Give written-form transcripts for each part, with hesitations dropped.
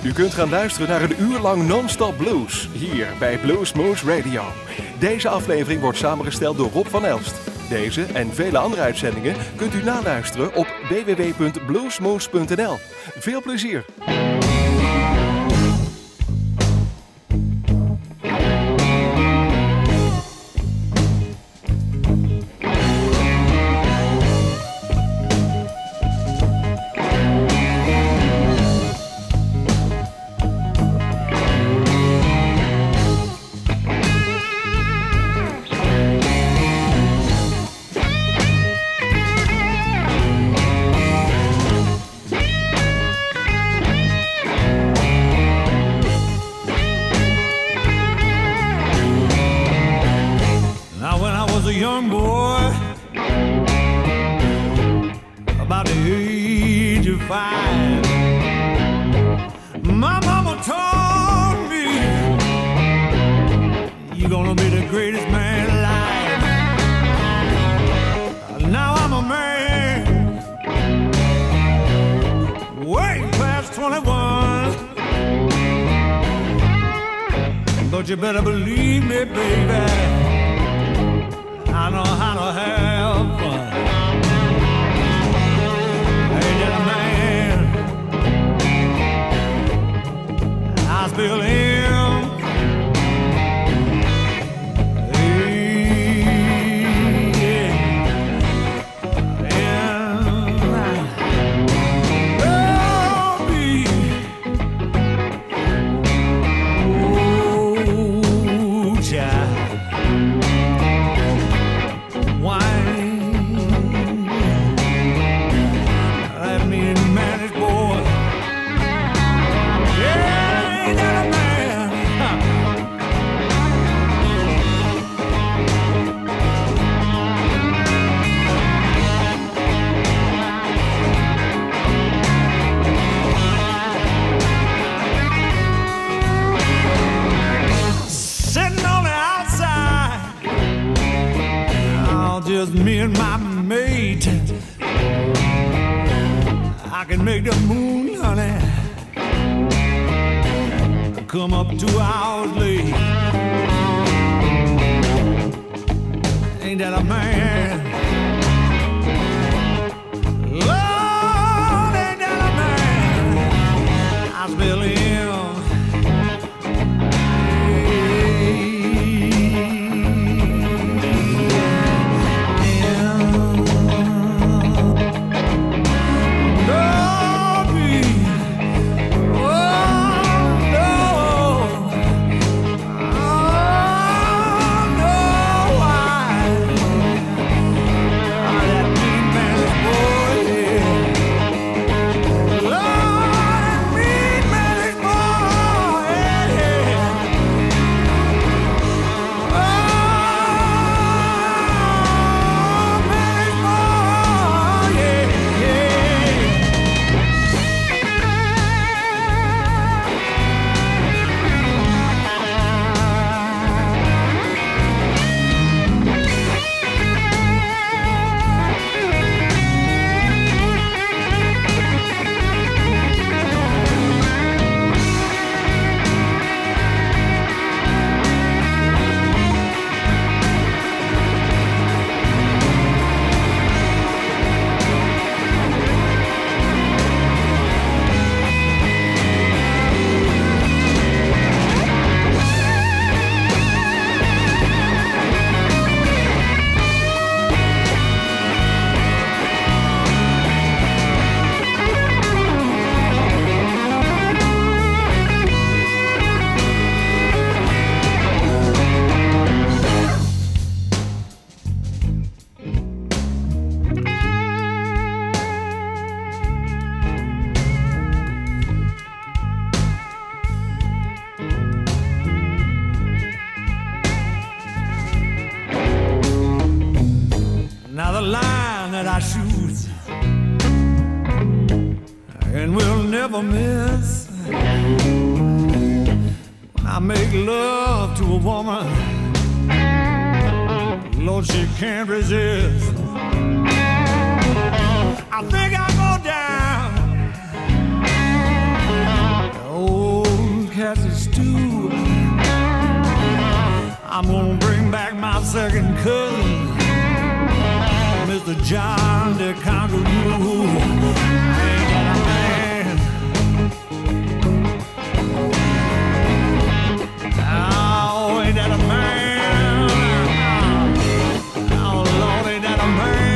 U kunt gaan luisteren naar een uur lang non-stop blues, hier bij Bluesmoose Radio. Deze aflevering wordt samengesteld door Rob van Elst. Deze en vele andere uitzendingen kunt u naluisteren op www.bluesmoose.nl. Veel plezier! But you better believe me, baby, I know how to have fun. Ain't that a man? I still am. Me and my mate, I can make the moon, honey, come up 2 hours late. Ain't that a man? Lord, ain't that a man? I spell him. Now the line that I shoot and will never miss, when I make love to a woman, Lord, she can't resist. I think I'll go down second cousin, Mr. John the Conqueror. Ain't that a man? Oh, ain't that a man? Oh, Lord, ain't that a man?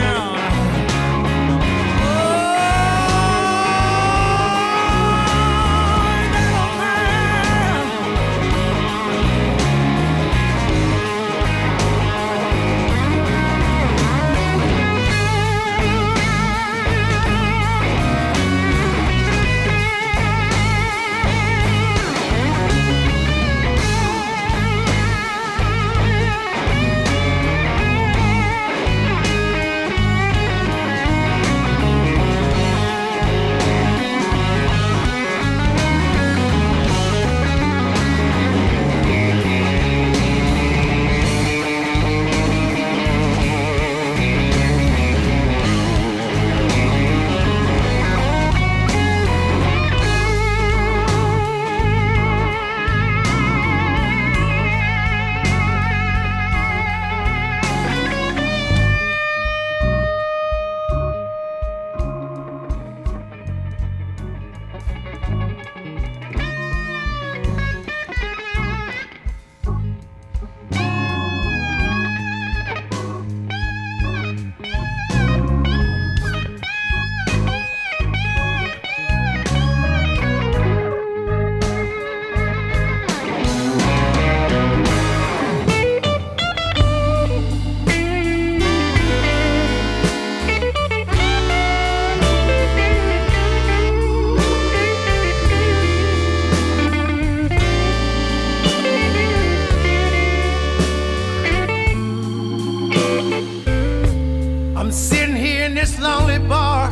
I'm sitting here in this lonely bar,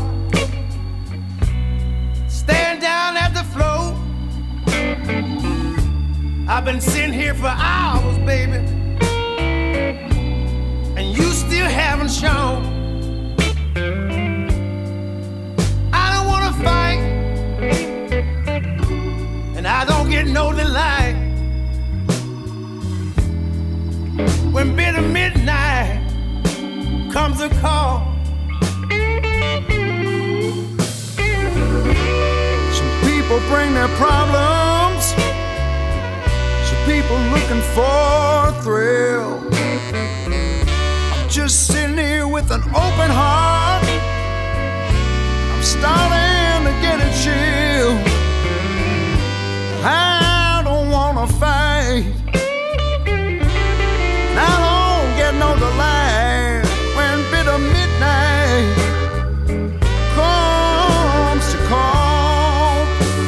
staring down at the floor. I've been sitting here for hours, baby, and you still haven't shown. I don't wanna fight, and I don't get no delight when bitter midnight comes a call. Some people bring their problems, some people looking for a thrill. I'm just sitting here with an open heart, I'm starting to get a chill. I don't wanna fight, I don't get no delight when bitter midnight comes to call.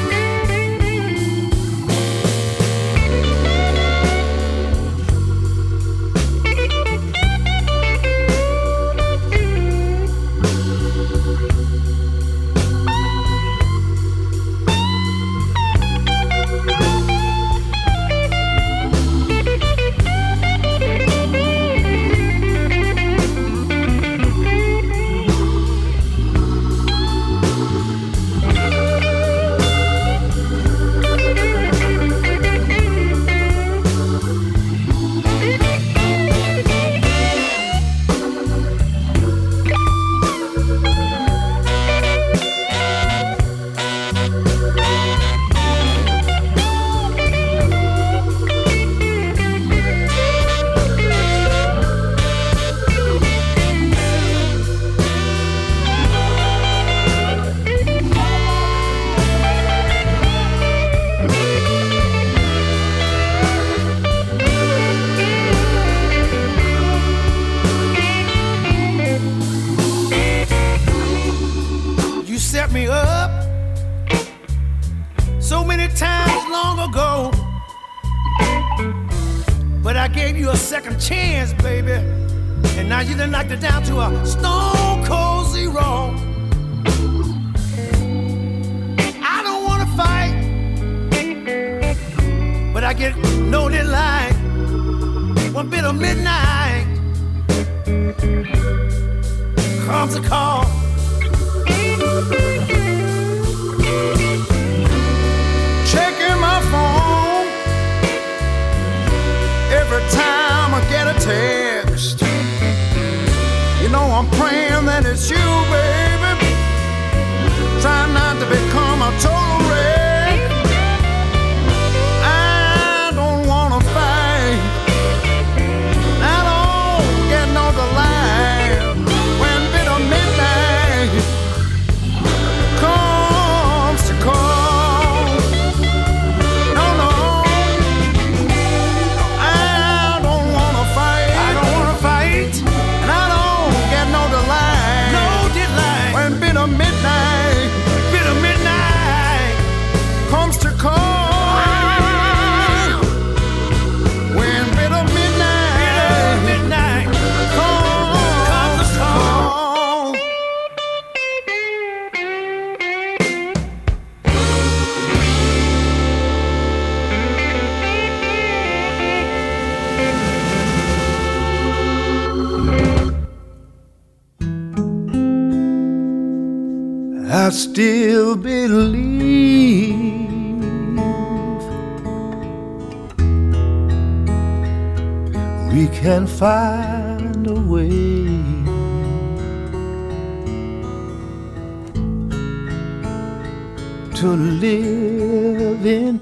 Set me up so many times long ago, but I gave you a second chance, baby, and now you done knocked it down to a stone cold zero. I don't wanna fight, but I get no delight one bit of midnight comes a call. Checking my phone every time I get a text. you, baby. Try not to become a total wreck. I don't wanna fight. I don't get no delight when bitter midnight comes to call. No, no, I don't wanna fight. I don't wanna fight, and I don't get no delight. No delight when bitter midnight comes to call. When bitter midnight comes to call. I still believe we can find a way to live in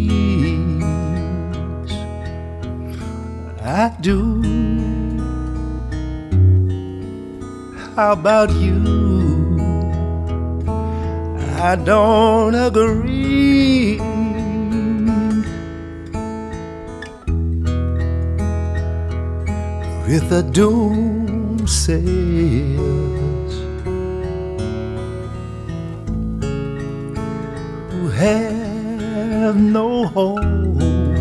peace. I do. How about you? I don't agree. With the doomsayers who have no hope.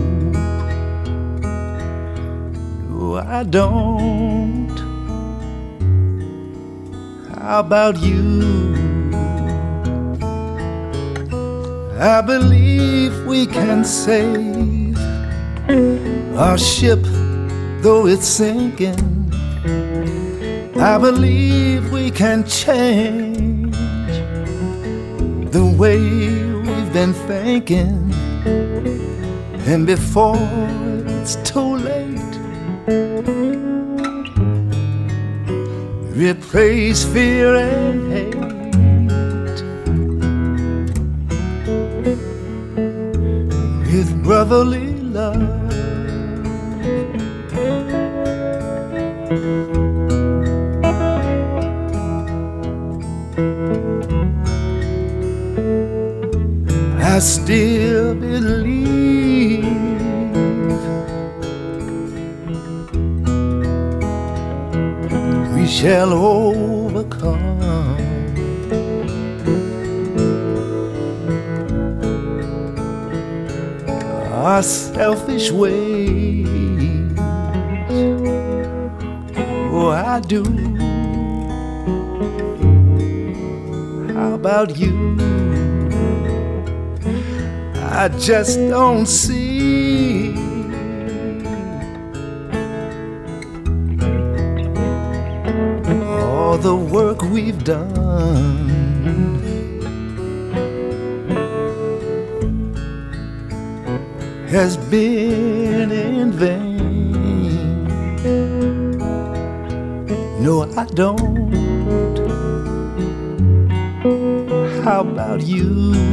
No, I don't. How about you? I believe we can save our ship, though it's sinking. I believe we can change the way we've been thinking. And before it's too late, replace fear and hate with brotherly love. I still believe we shall overcome. Our selfish ways. Oh, I do. How about you? I just don't see all the work we've done. Has been in vain. No, I don't. How about you?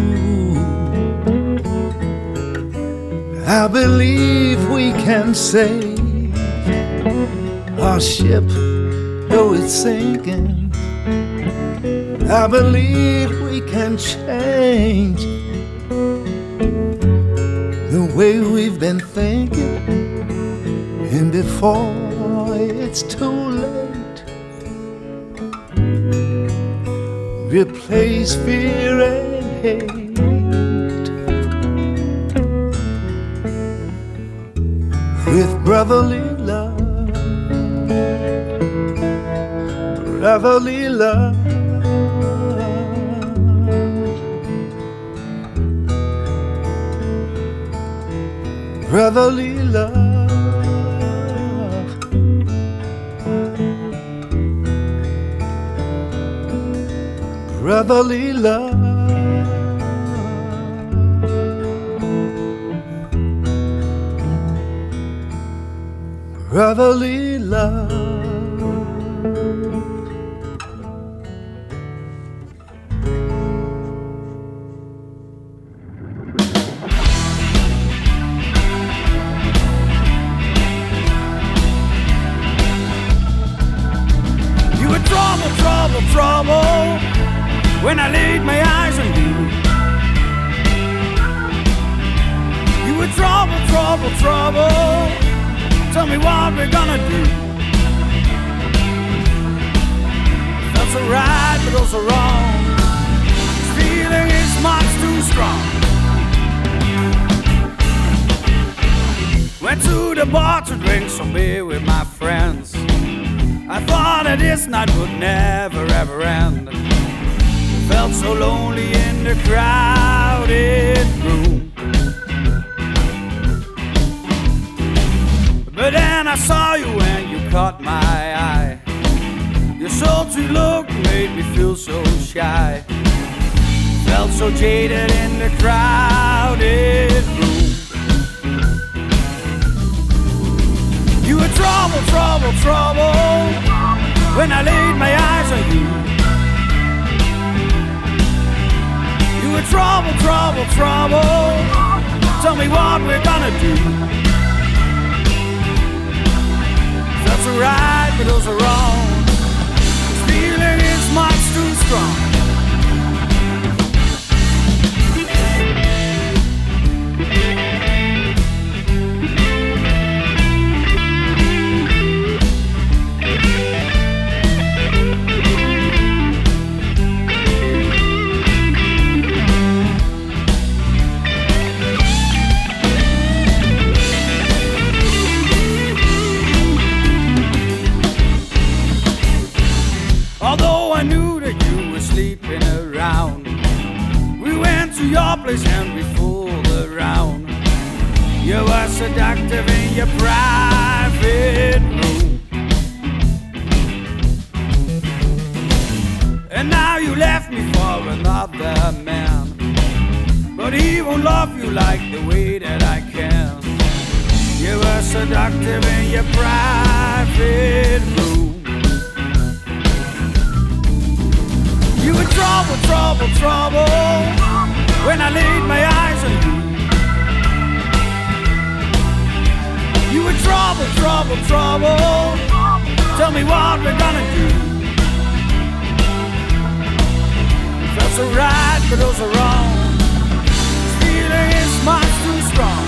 I believe we can save our ship, though it's sinking. I believe we can change the way we've been thinking. And before it's too late, replace fear and hate with brotherly love, brotherly love, brotherly love, brotherly love. Brotherly love. when I laid my eyes on you. You were trouble, trouble, trouble. Tell me what we're gonna do. Felt so right, but also wrong. This feeling is much too strong. Went to the bar to drink some beer with my friends. I thought that this night would never ever end. Felt so lonely in the crowded room. But then I saw you and you caught my eye. Your sultry look made me feel so shy. Felt so jaded in the crowded room. You were trouble, trouble, trouble when I laid my eyes on you. You were trouble, trouble, trouble. Tell me what we're gonna do. Felt so right, but also wrong. This feeling is much too strong. Although I knew that you were sleeping around, we went to your place and we fooled around. You were seductive in your private room. And now you left me for another man, but he won't love you like the way that I can. You were seductive in your private room. You were trouble, trouble, trouble when I laid my eyes on you. You were trouble, trouble, trouble. Tell me what we're gonna do. Felt so right, but also wrong. This feeling is much too strong.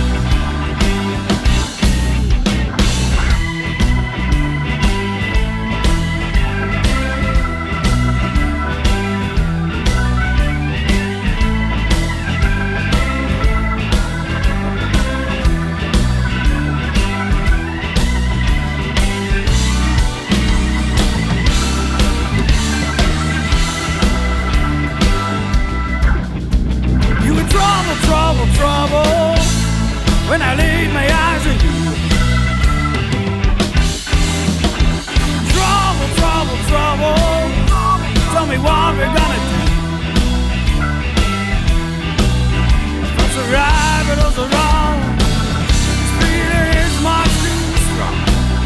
Trouble, trouble, when I laid my eyes on you. Trouble, trouble, trouble, tell me what we're gonna do. Felt so right, but also wrong. This feeling is much too strong.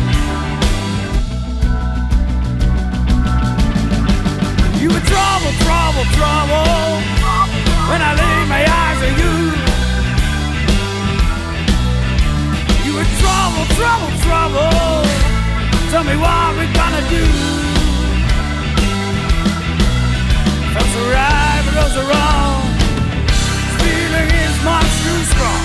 You were trouble, trouble, trouble when I laid my eyes on you. You were trouble, trouble, trouble. Tell me what we're gonna do. Felt so right, but also wrong. This feeling is much too strong.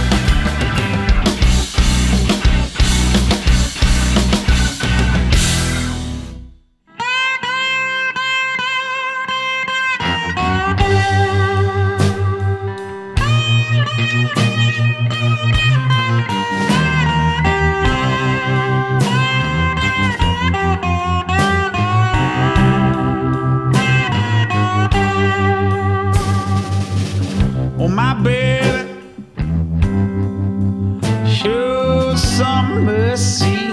On my bed, show some mercy.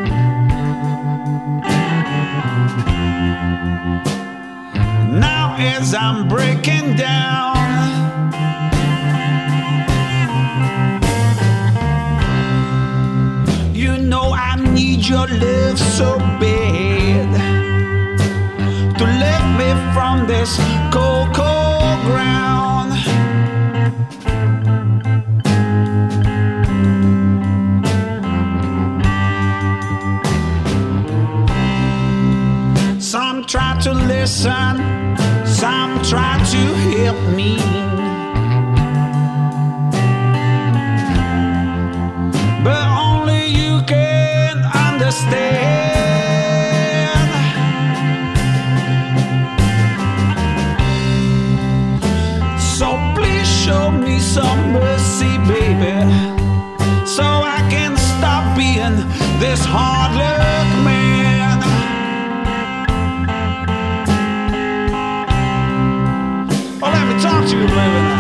Now as I'm breaking down, you know I need your love so bad to lift me from this cold, cold ground. Some try to listen, some try to help me. But only you can understand. So please show me some mercy, baby, so I can stop being this hard luck man. Oh, let me talk to you, baby.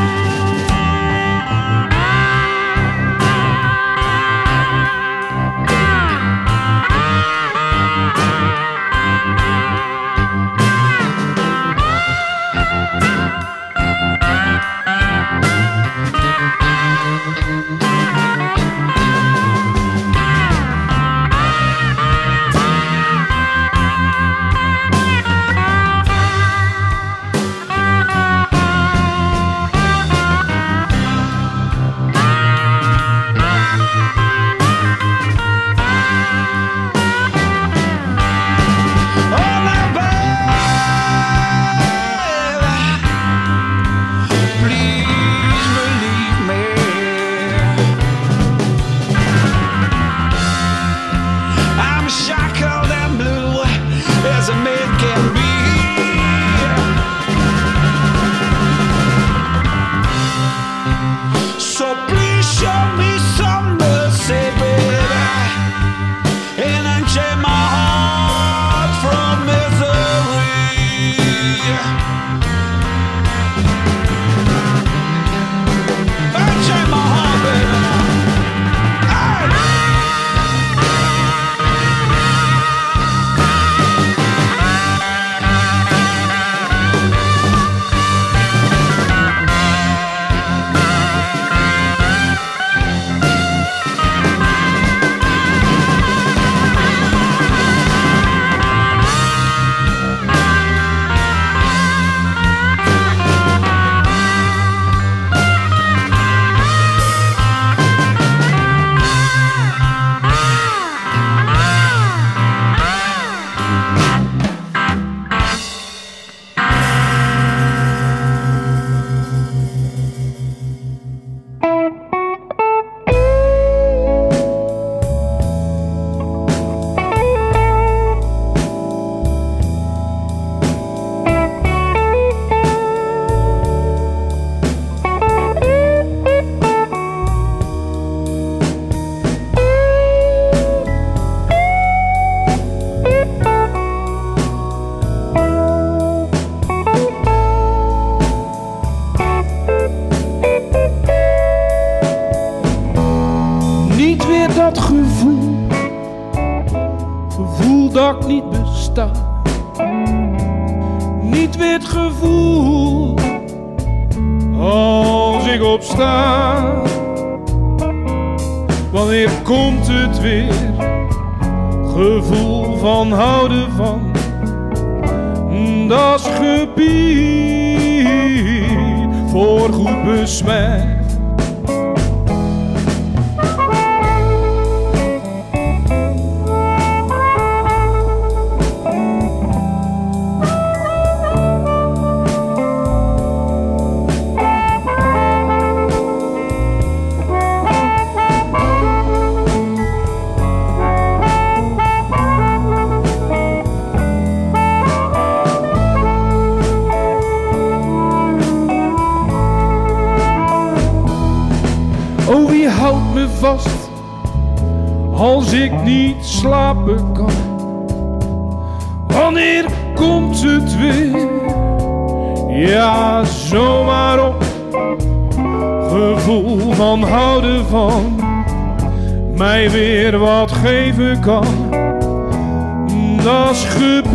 dat ik niet besta. Niet weer het gevoel als ik opsta. Wanneer komt het weer? Gevoel van houden van. Dat is gebied voorgoed besmet. Oh, wie houdt me vast als ik niet slapen kan? Wanneer komt het weer? Ja, zomaar op. Gevoel van houden van. Mij weer wat geven kan. Dat is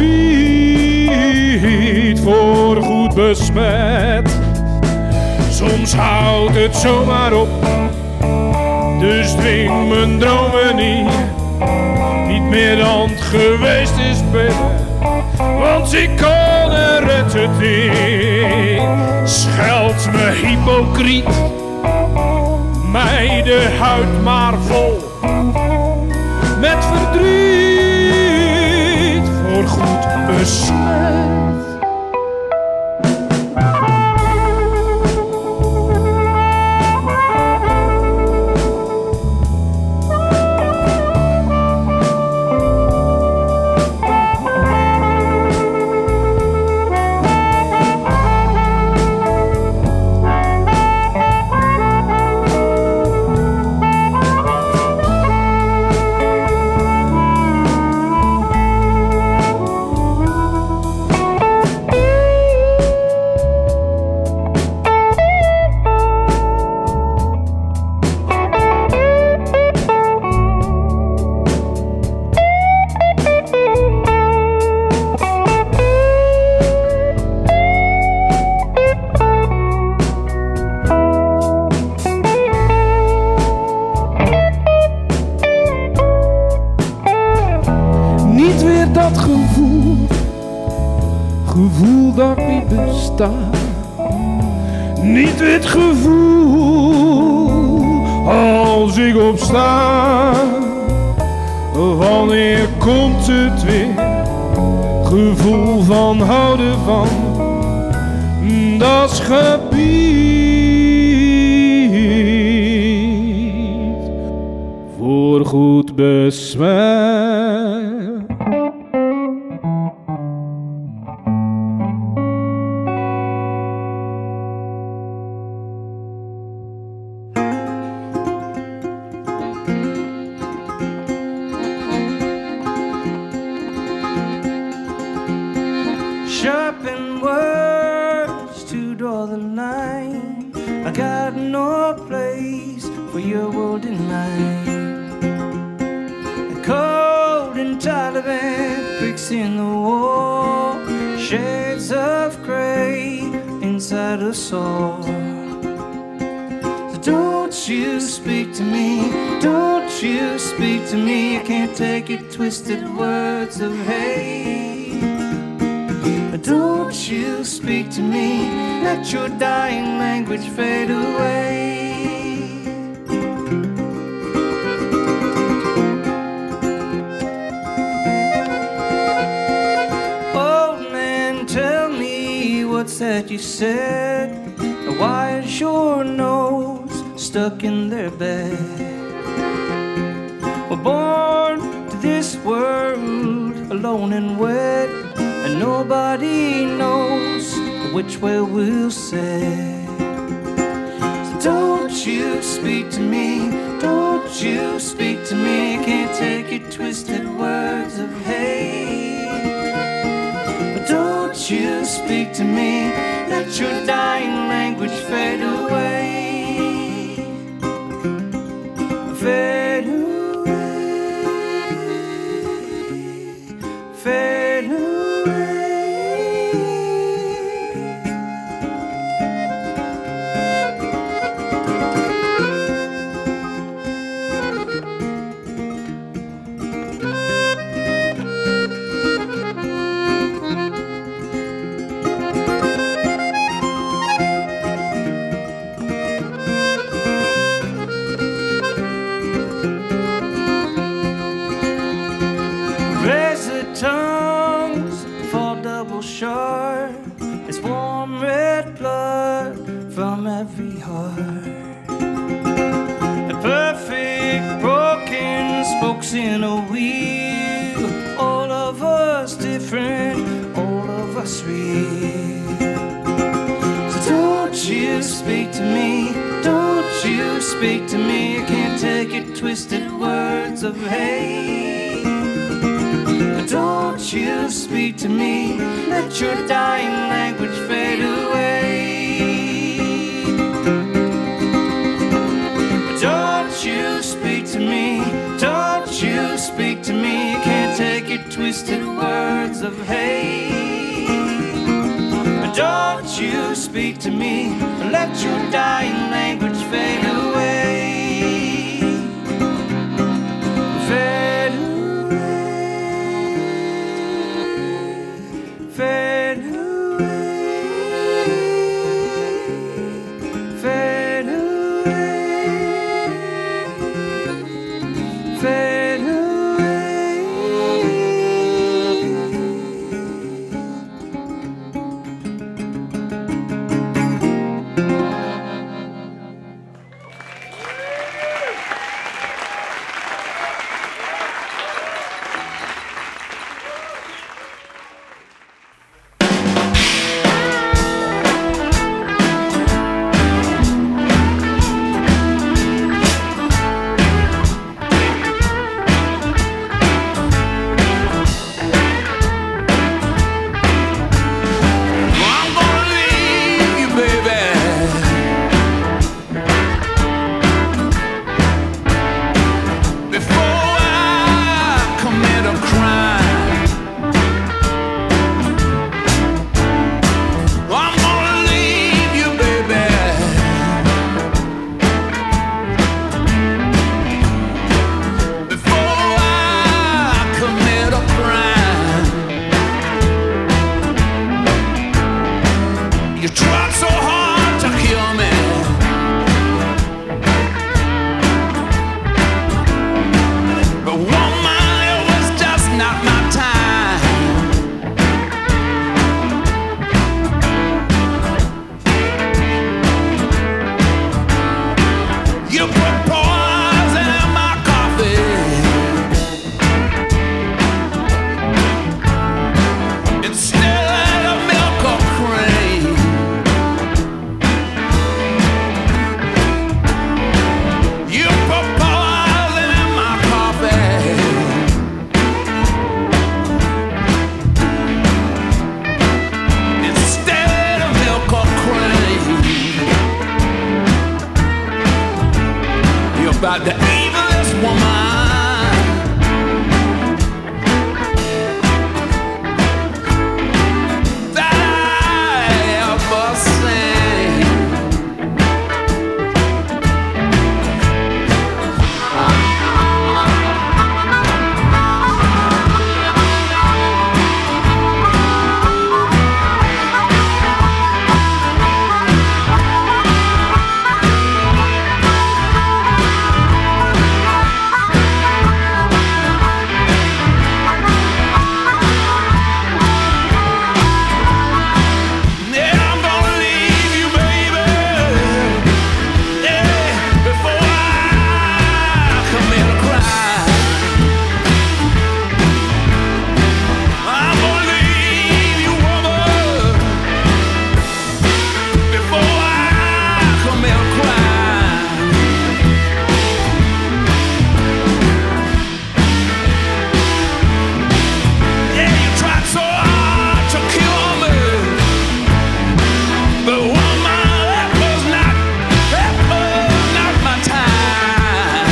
gebied voorgoed besmet. Soms houdt het zomaar op. Dus dwing mijn dromen niet meer dan het geweest is, baby. Want ik kan er het niet. Scheld me hypocriet, mij de huid maar vol. Met verdriet voorgoed besmet. niet bestaat. Niet het gevoel als ik opsta. Wanneer komt het weer? Gevoel van houden van dat gebied voorgoed besmet. Sharpen words to draw the line. I got no place for your world in mine. The cold and Taliban bricks in the wall, shades of grey inside us all. So don't you speak to me, don't you speak to me. I can't take your twisted words of hate. Don't you speak to me, let your dying language fade away. Old man, tell me what's that you said? Why is your nose stuck in their bed? We're born to this world alone and wet, and nobody knows which way we'll say. So don't you speak to me, don't you speak to me. I can't take your twisted words of hate. But don't you speak to me, let your dying language fade away. Fade away, fade away. Tongues fall double sharp. It's warm red blood from every heart. The perfect broken spokes in a wheel. All of us different, all of us real. So don't you speak to me, don't you speak to me. I can't take your twisted words of hate. Don't you speak to me, let your dying language fade away. Don't you speak to me, don't you speak to me. I can't take your twisted words of hate. Don't you speak to me, let your dying language fade away. Fade away. Fade away, fade away, fade away. You tried so hard to kill me. But woman, it was just not my time. You put poison in my coffee. Instead of milk or cream. You put poison in my coffee. Instead of milk or cream. You're about the evilest woman that I ever seen. Yeah, I'm gonna leave you, baby. Yeah, before I commit a crime. I'm gonna leave you, woman, before I commit a crime. Yeah, you tried so hard to kill me. But woman, that was not my time.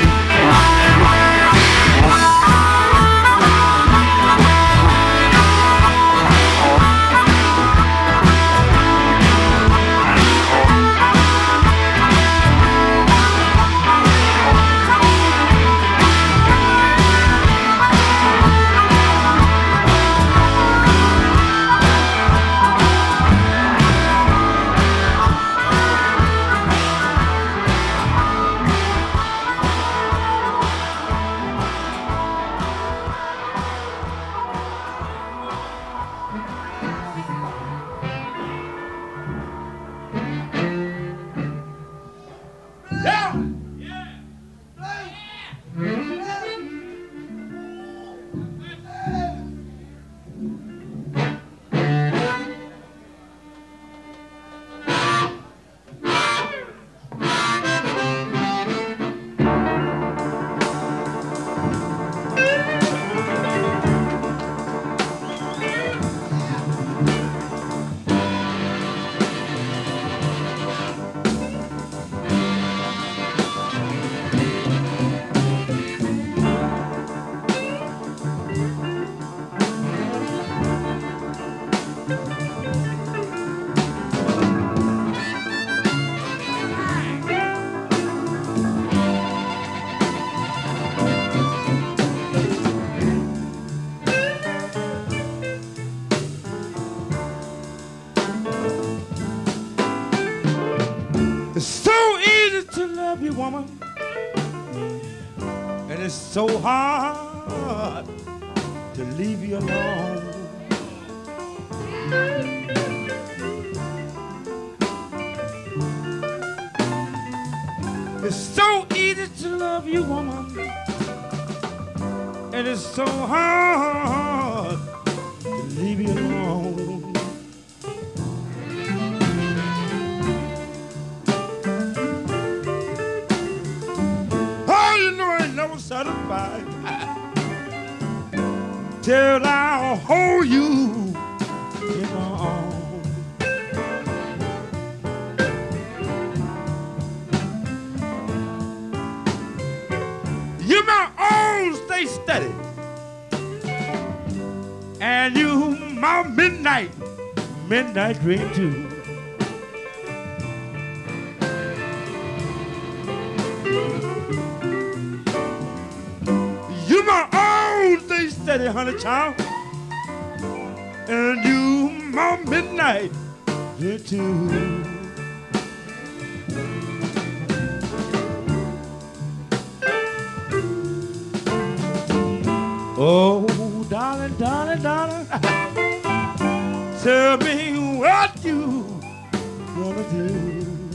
It's so easy to love you, woman, and it's so hard to leave you alone. It's so easy to love you, woman, and it's so hard to leave you alone. Never satisfied till I'll hold you in my arms. You're my own, stay steady, and you my midnight dream too. Steady, honey child, and you my midnight you too. Oh, darling, darling, darling, tell me what you gonna do.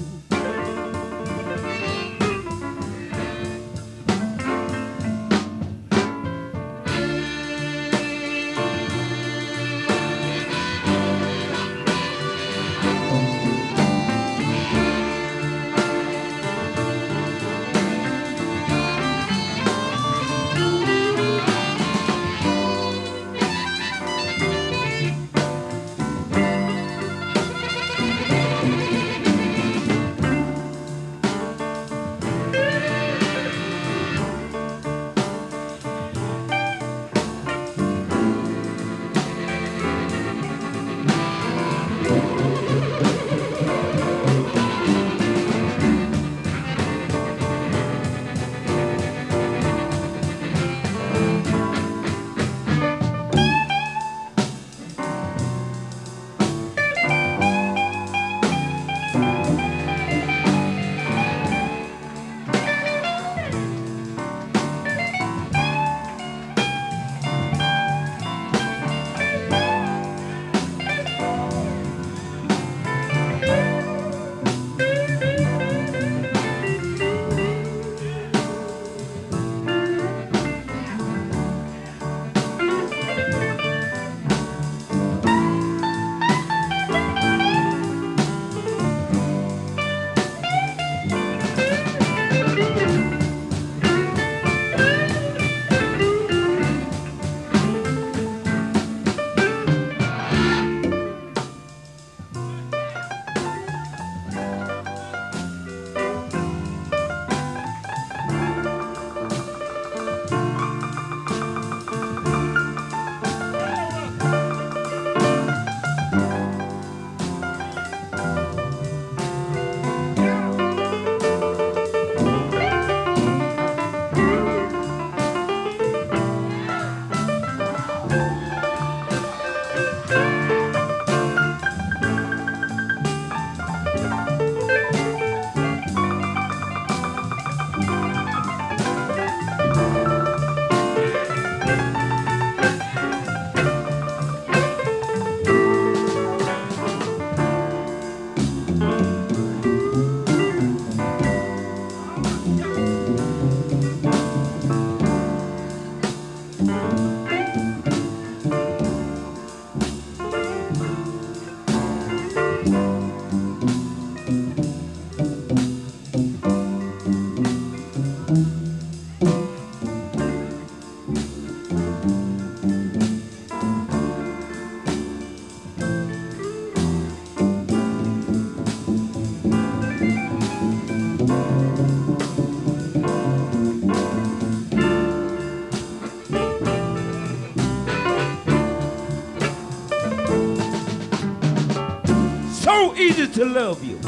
So easy to love you,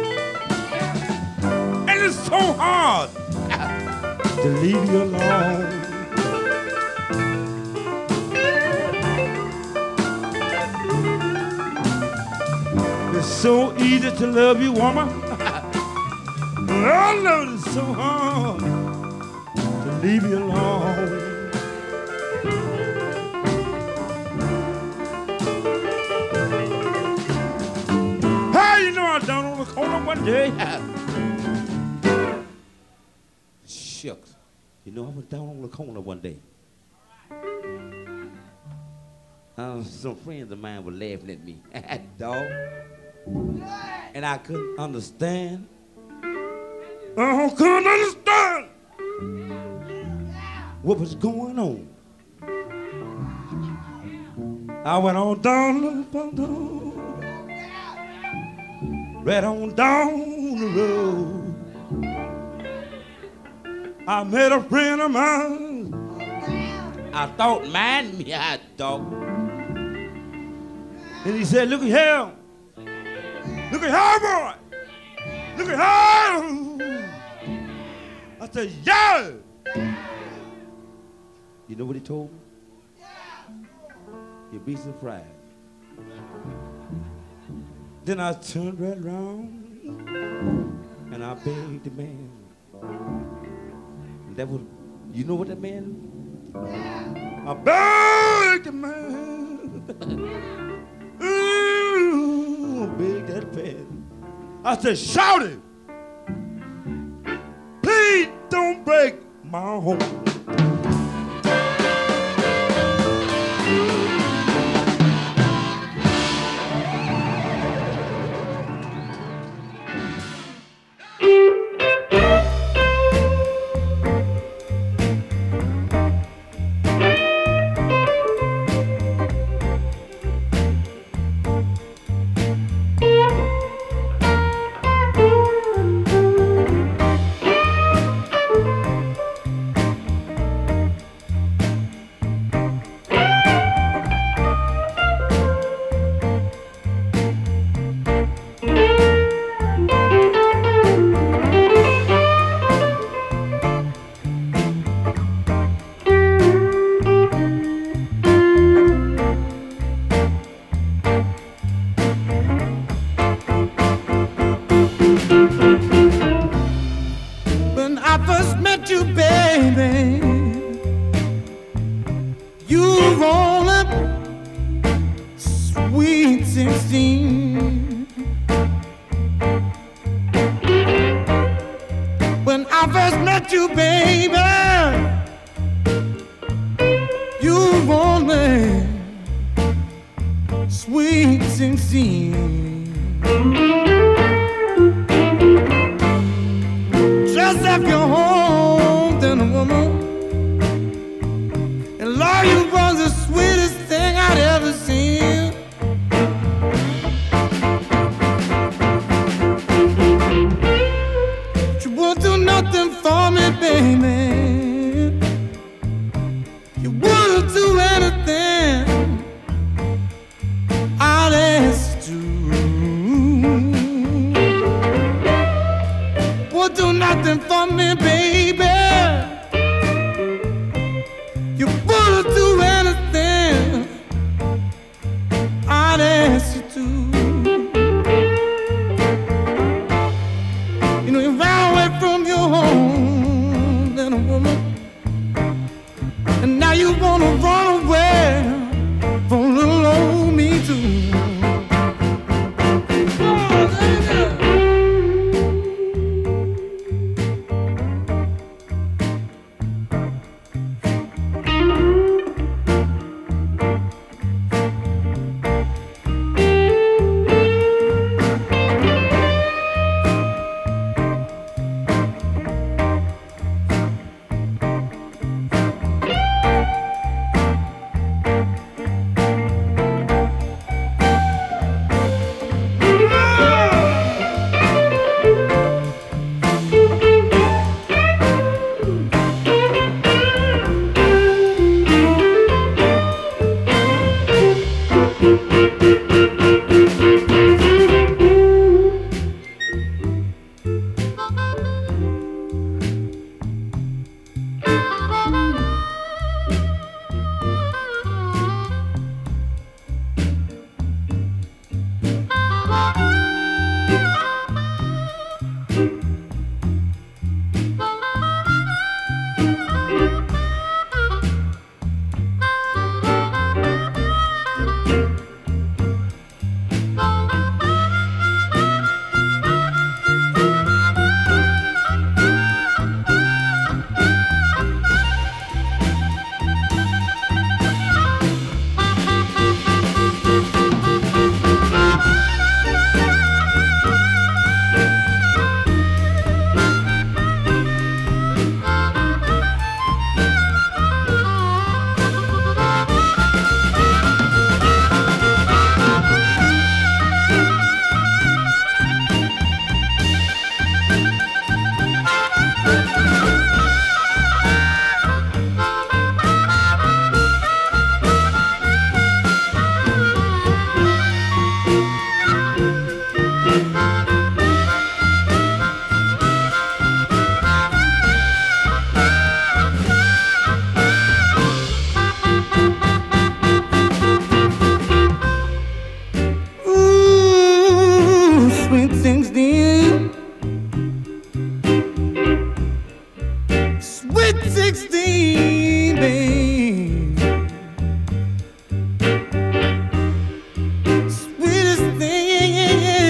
and it's so hard to leave you alone. It's so easy to love you, woman. I know it's so hard to leave you alone. Down on the corner one day. Shucks. You know, I was down on the corner one day. Some friends of mine were laughing at me. Dog. And I couldn't understand. I couldn't understand what was going on. I went on down right on down the road. I met a friend of mine. I thought, man, me, I thought. And he said, look at here. Look at here, boy. Look at here. I said, yeah. You know what he told me? You'd be surprised. Then I turned right around and I begged the man. And that was, you know what that man? I begged the man. Ooh, begged that man. I said, shout it. Please don't break my home.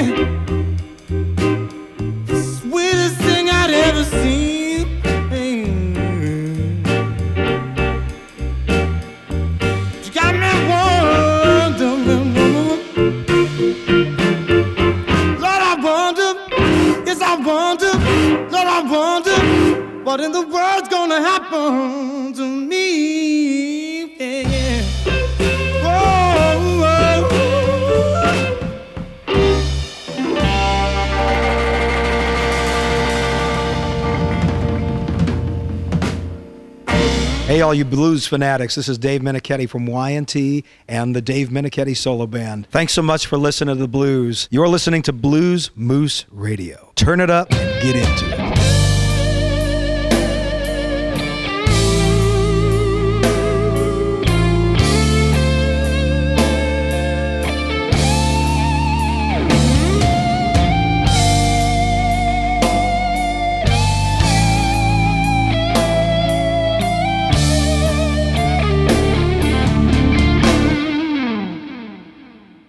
the sweetest thing I'd ever seen. You got me wondering, Lord, I wonder, yes, I wonder, Lord, I wonder, what in the world's gonna happen to me? Yeah, yeah. Hey, all you blues fanatics, this is Dave Menichetti from Y&T and the Dave Menichetti Solo Band. Thanks so much for listening to the blues. You're listening to Blues Moose Radio. Turn it up and get into it.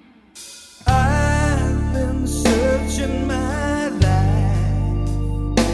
I've been searching my life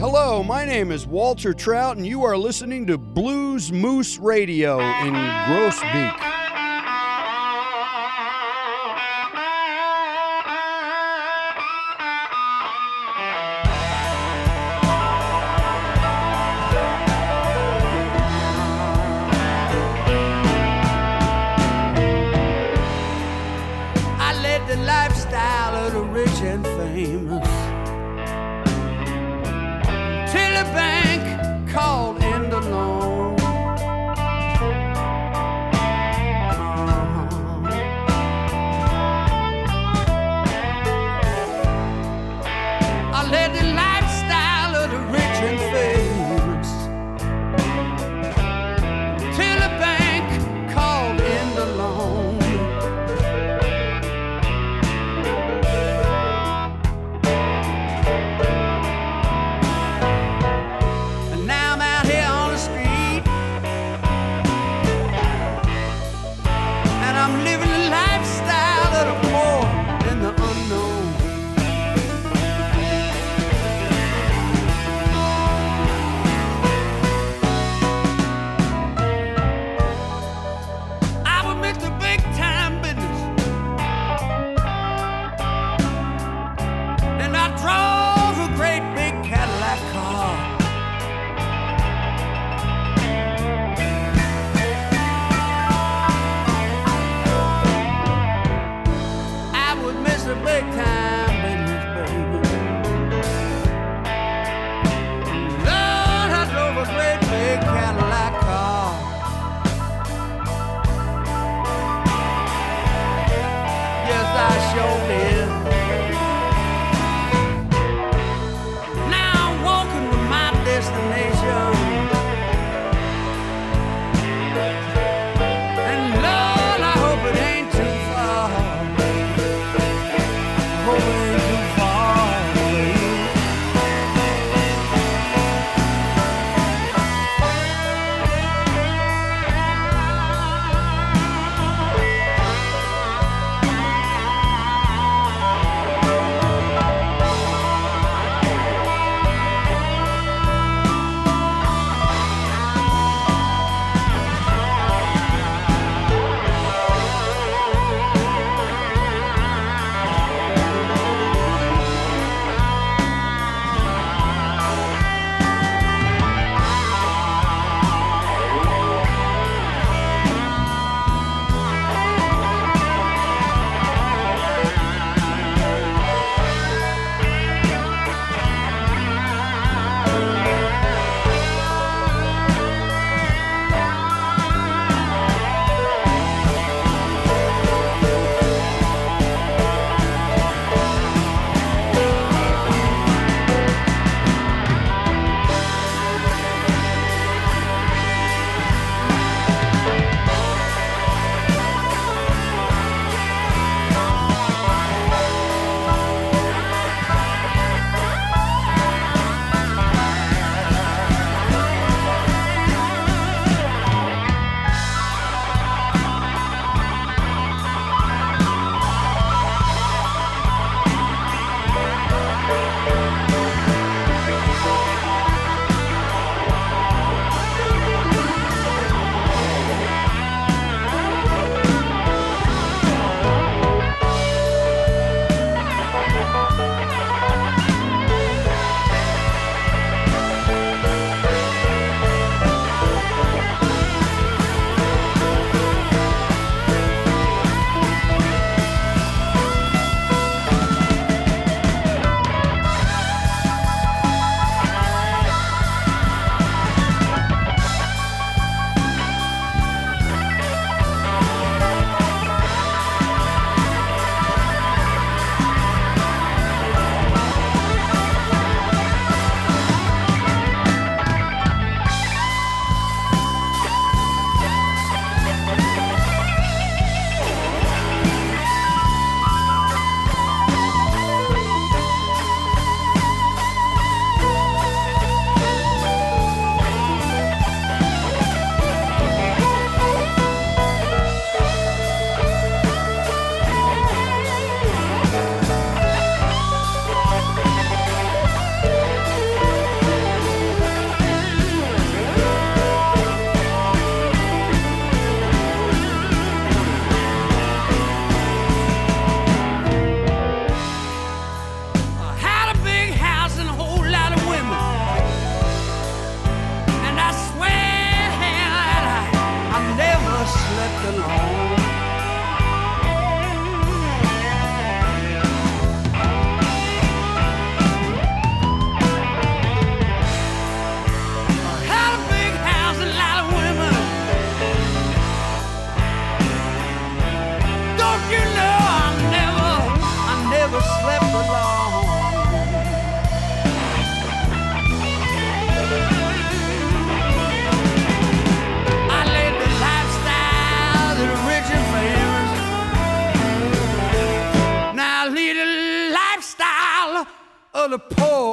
Hello, my name is Walter Trout, and you are listening to Blues Moose Radio in Groesbeek. I led the lifestyle of the rich and famous till the bank called in the loan. I led the lifestyle of the rich and famous till the bank called in the loan. And now I'm out here on the street, and I'm living the lifestyle of the poor and the unknown. I would miss the big time business, and I drove a great big Cadillac car. I would miss the big time business, baby. Lord, I drove a great big Cadillac car. Yes, I sure did. Now I'm walking with my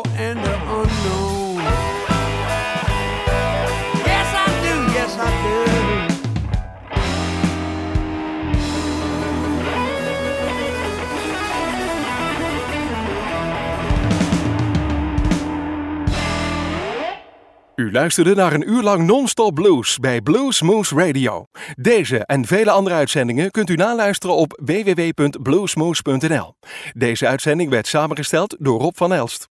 all and the unknown. Yes, I do. Yes, I do. U luisterde naar een uur lang non-stop blues bij Blues Moose Radio. Deze en vele andere uitzendingen kunt u naluisteren op www.bluesmoose.nl. Deze uitzending werd samengesteld door Rob van Elst.